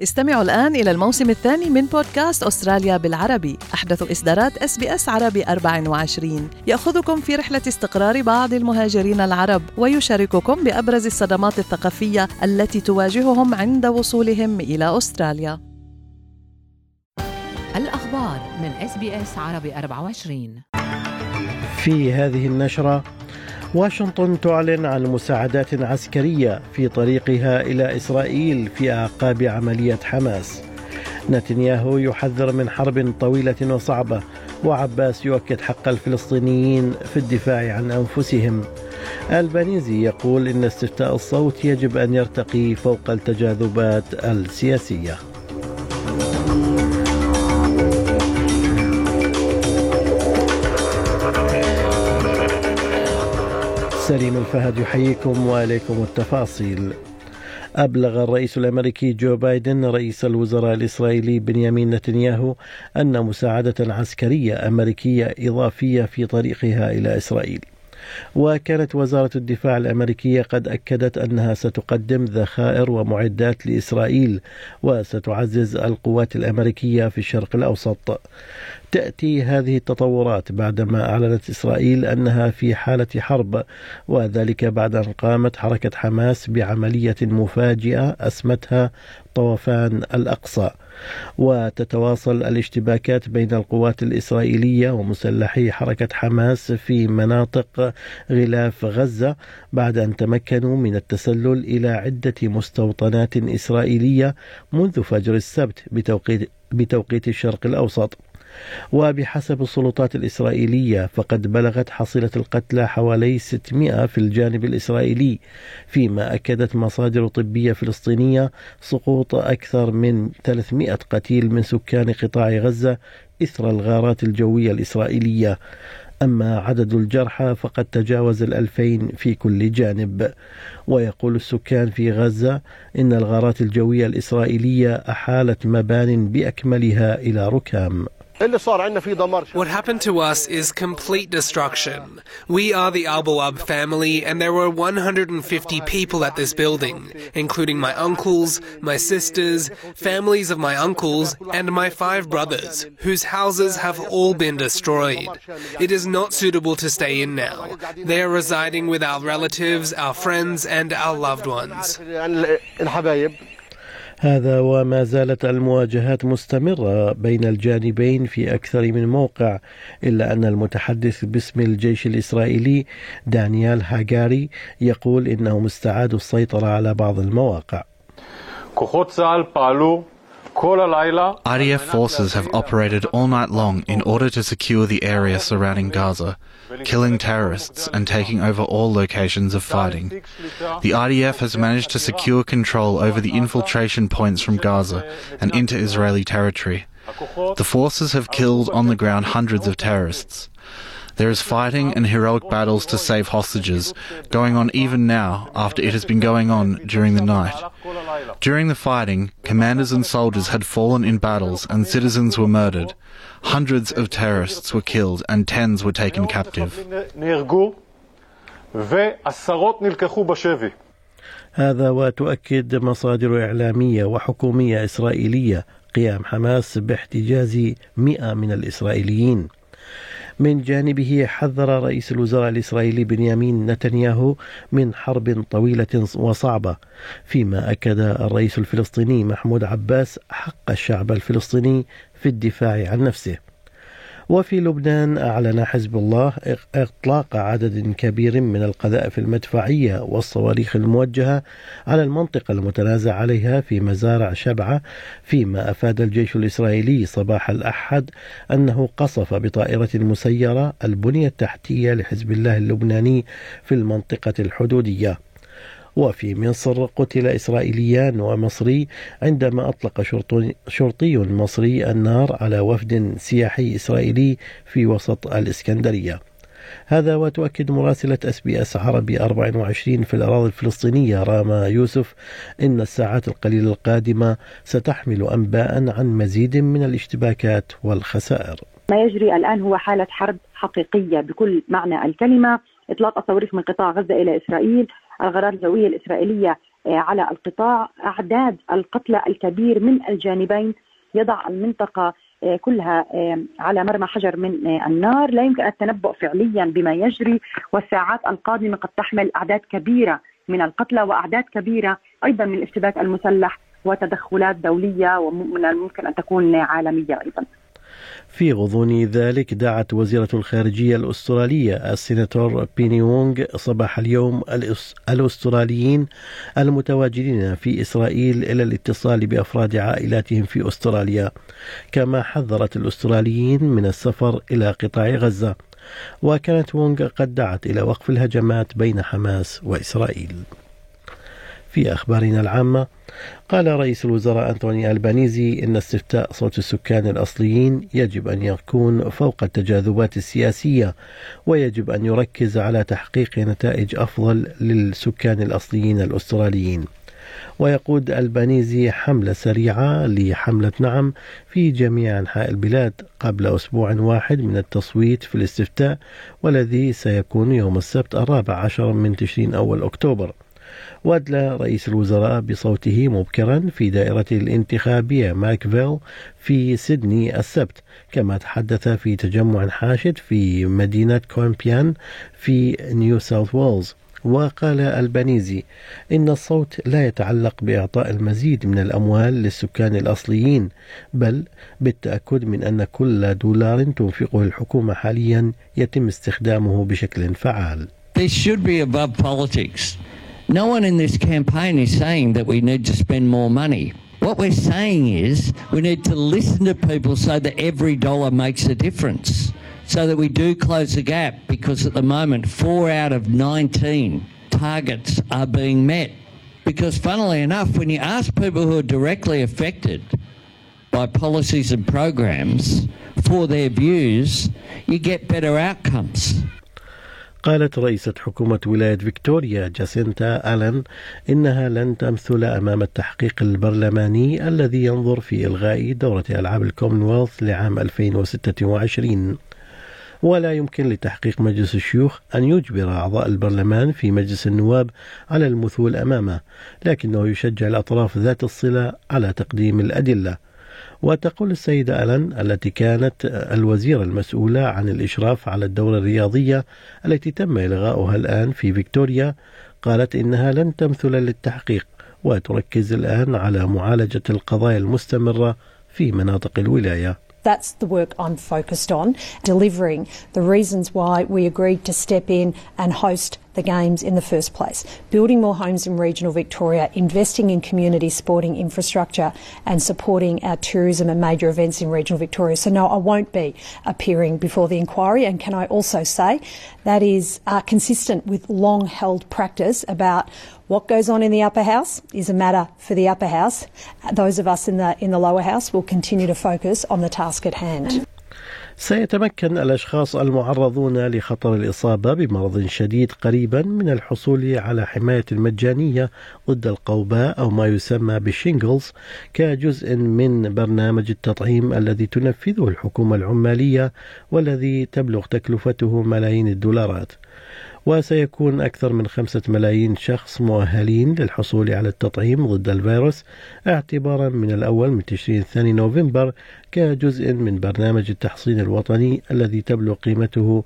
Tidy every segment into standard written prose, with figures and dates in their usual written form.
استمعوا الآن إلى الموسم الثاني من بودكاست أستراليا بالعربي، أحدث إصدارات SBS عربي 24، يأخذكم في رحلة استقرار بعض المهاجرين العرب ويشارككم بأبرز الصدمات الثقافية التي تواجههم عند وصولهم إلى أستراليا. الأخبار من SBS عربي 24. في هذه النشرة، واشنطن تعلن عن مساعدات عسكرية في طريقها إلى إسرائيل في أعقاب عملية حماس. نتنياهو يحذر من حرب طويلة وصعبة، وعباس يؤكد حق الفلسطينيين في الدفاع عن أنفسهم. البانيزي يقول إن استفتاء الصوت يجب أن يرتقي فوق التجاذبات السياسية. سليم الفهد يحييكم وعليكم التفاصيل. أبلغ الرئيس الأمريكي جو بايدن رئيس الوزراء الإسرائيلي بنيامين نتنياهو أن مساعدة عسكرية أمريكية إضافية في طريقها إلى إسرائيل. وكانت وزارة الدفاع الأمريكية قد أكدت أنها ستقدم ذخائر ومعدات لإسرائيل وستعزز القوات الأمريكية في الشرق الأوسط. تأتي هذه التطورات بعدما أعلنت إسرائيل أنها في حالة حرب، وذلك بعد أن قامت حركة حماس بعملية مفاجئة أسمتها طوفان الأقصى. وتتواصل الاشتباكات بين القوات الإسرائيلية ومسلحي حركة حماس في مناطق غلاف غزة بعد أن تمكنوا من التسلل إلى عدة مستوطنات إسرائيلية منذ فجر السبت بتوقيت الشرق الأوسط. وبحسب السلطات الإسرائيلية فقد بلغت حصيلة القتلى حوالي 600 في الجانب الإسرائيلي، فيما أكدت مصادر طبية فلسطينية سقوط أكثر من 300 قتيل من سكان قطاع غزة إثر الغارات الجوية الإسرائيلية. أما عدد الجرحى فقد تجاوز 2000 في كل جانب. ويقول السكان في غزة إن الغارات الجوية الإسرائيلية أحالت مبان بأكملها إلى ركام. What happened to us is complete destruction. We are the Al-Bawab family, and there were 150 people at this building, including my uncles, my sisters, families of my uncles, and my 5 brothers, whose houses have all been destroyed. It is not suitable to stay in now. They are residing with our relatives, our friends, and our loved ones. هذا وما زالت المواجهات مستمرة بين الجانبين في أكثر من موقع، إلا أن المتحدث باسم الجيش الإسرائيلي دانيال هاجاري يقول إنهم استعادوا السيطرة على بعض المواقع. IDF forces have operated all night long in order to secure the area surrounding Gaza, killing terrorists and taking over all locations of fighting. The IDF has managed to secure control over the infiltration points from Gaza and into Israeli territory. The forces have killed on the ground hundreds of terrorists. There is fighting and heroic battles to save hostages, going on even now after it has been going on during the night. During the fighting, commanders and soldiers had fallen in battles and citizens were murdered. Hundreds of terrorists were killed and tens were taken captive. هذا وتؤكد مصادر إعلامية وحكومية إسرائيلية قيام حماس باحتجاز 100 من الإسرائيليين. من جانبه حذر رئيس الوزراء الإسرائيلي بنيامين نتنياهو من حرب طويلة وصعبة، فيما أكد الرئيس الفلسطيني محمود عباس حق الشعب الفلسطيني في الدفاع عن نفسه. وفي لبنان أعلن حزب الله إطلاق عدد كبير من القذائف المدفعية والصواريخ الموجهة على المنطقة المتنازع عليها في مزارع شبعة، فيما أفاد الجيش الإسرائيلي صباح الأحد أنه قصف بطائرة مسيرة البنية التحتية لحزب الله اللبناني في المنطقة الحدودية. وفي مصر قتل إسرائيليان ومصري عندما أطلق شرطي مصري النار على وفد سياحي إسرائيلي في وسط الإسكندرية. هذا وتؤكد مراسلة SBS عربي 24 في الأراضي الفلسطينية راما يوسف إن الساعات القليلة القادمة ستحمل أنباء عن مزيد من الاشتباكات والخسائر. ما يجري الآن هو حالة حرب حقيقية بكل معنى الكلمة. إطلاق الصواريخ من قطاع غزة إلى إسرائيل، الغارات الجوية الإسرائيلية على القطاع. أعداد القتلى الكبير من الجانبين يضع المنطقة كلها على مرمى حجر من النار. لا يمكن التنبؤ فعليا بما يجري، والساعات القادمة قد تحمل أعداد كبيرة من القتلى وأعداد كبيرة أيضا من الاشتباك المسلح وتدخلات دولية ومن الممكن أن تكون عالمية أيضا. في غضون ذلك دعت وزيرة الخارجية الأسترالية السيناتور بيني وونغ صباح اليوم الأستراليين المتواجدين في إسرائيل إلى الاتصال بأفراد عائلاتهم في أستراليا، كما حذرت الأستراليين من السفر إلى قطاع غزة. وكانت وونغ قد دعت إلى وقف الهجمات بين حماس وإسرائيل. في أخبارنا العامة، قال رئيس الوزراء أنتوني ألبانيزي إن استفتاء صوت السكان الأصليين يجب أن يكون فوق التجاذبات السياسية، ويجب أن يركز على تحقيق نتائج أفضل للسكان الأصليين الأستراليين. ويقود ألبانيزي حملة سريعة لحملة نعم في جميع أنحاء البلاد قبل أسبوع واحد من التصويت في الاستفتاء، والذي سيكون يوم السبت 14 من تشرين أول أكتوبر. وأدلى رئيس الوزراء بصوته مبكرا في دائرته الانتخابية ماكفيل في سيدني السبت، كما تحدث في تجمع حاشد في مدينة كومبيان في نيو ساوث ويلز. وقال ألبانيزي إن الصوت لا يتعلق بإعطاء المزيد من الأموال للسكان الأصليين، بل بالتأكد من أن كل دولار تنفقه الحكومة حاليا يتم استخدامه بشكل فعال. This should be above politics. No one in this campaign is saying that we need to spend more money. What we're saying is we need to listen to people so that every dollar makes a difference, so that we do close the gap, because at the moment 4 out of 19 targets are being met. Because funnily enough, when you ask people who are directly affected by policies and programs for their views, you get better outcomes. قالت رئيسة حكومة ولاية فيكتوريا جاسينتا آلن إنها لن تمثل أمام التحقيق البرلماني الذي ينظر في إلغاء دورة ألعاب الكومنولث لعام 2026، ولا يمكن لتحقيق مجلس الشيوخ أن يجبر أعضاء البرلمان في مجلس النواب على المثول أمامه، لكنه يشجع الأطراف ذات الصلة على تقديم الأدلة. وتقول السيدة آلن التي كانت الوزيرة المسؤولة عن الإشراف على الدورة الرياضية التي تم إلغاؤها الآن في فيكتوريا، قالت إنها لن تمثل للتحقيق وتركز الآن على معالجة القضايا المستمرة في مناطق الولاية. That's the work I'm focused on, delivering the reasons why we agreed to step in and host the Games in the first place, building more homes in regional Victoria, investing in community sporting infrastructure and supporting our tourism and major events in regional Victoria. So no, I won't be appearing before the inquiry, and can I also say that is consistent with long-held practice about what goes on in the upper house is a matter for the upper house. Those of us in the lower house will continue to focus on the task at hand. سيتمكن الأشخاص المعرضون لخطر الإصابة بمرض شديد قريبا من الحصول على حماية مجانية ضد القوباء أو ما يسمى بالشينجلز كجزء من برنامج التطعيم الذي تنفذه الحكومة العمالية، والذي تبلغ تكلفته ملايين الدولارات. وسيكون أكثر من 5 ملايين شخص مؤهلين للحصول على التطعيم ضد الفيروس اعتبارا من الأول من تشرين 2 نوفمبر كجزء من برنامج التحصين الوطني الذي تبلغ قيمته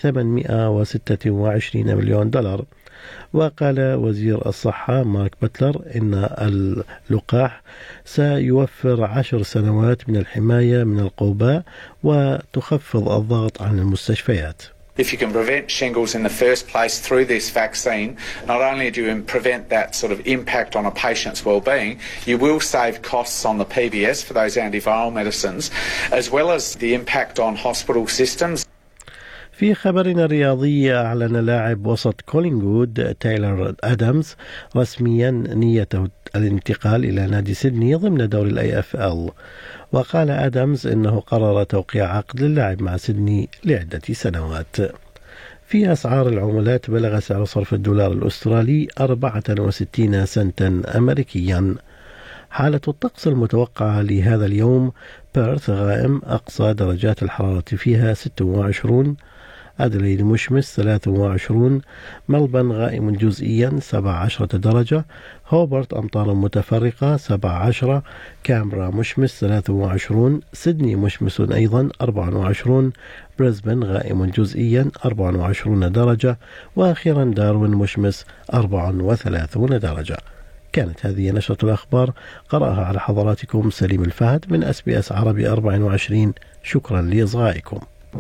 826 مليون دولار. وقال وزير الصحة مارك باتلر إن اللقاح سيوفر 10 سنوات من الحماية من القوباء وتخفض الضغط عن المستشفيات. If you can prevent shingles in the first place through this vaccine, not only do you prevent that sort of impact on a patient's well-being, you will save costs on the PBS for those antiviral medicines, as well as the impact on hospital systems. في خبرنا الرياضي، أعلن لاعب وسط كولينغوود تايلر آدمز رسميا نيته الانتقال إلى نادي سيدني ضمن دوري الAFL. وقال آدمز إنه قرر توقيع عقد للعب مع سيدني لعدة سنوات. في أسعار العملات، بلغ سعر صرف الدولار الأسترالي 64 سنتا أمريكيا. حالة الطقس المتوقعة لهذا اليوم: بيرث غائم، أقصى درجات الحرارة فيها 26، أدليد مشمس 23 ملبن غائم جزئيا 17 درجة هوبرت أمطار متفرقة 17 كامبرا مشمس 23 سيدني مشمس أيضا 24 بريسبن غائم جزئيا 24 درجة وأخيرا داروين مشمس 34 درجة. كانت هذه نشرة الأخبار قرأها على حضراتكم سليم الفهد من SBS عربي 24. شكرا لإصغائكم.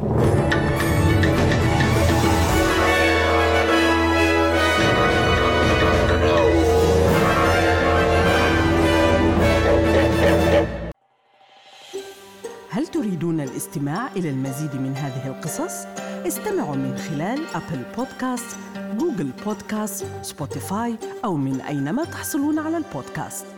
هل تريدون الاستماع إلى المزيد من هذه القصص؟ استمعوا من خلال أبل بودكاست، جوجل بودكاست، سبوتيفاي أو من أينما تحصلون على البودكاست.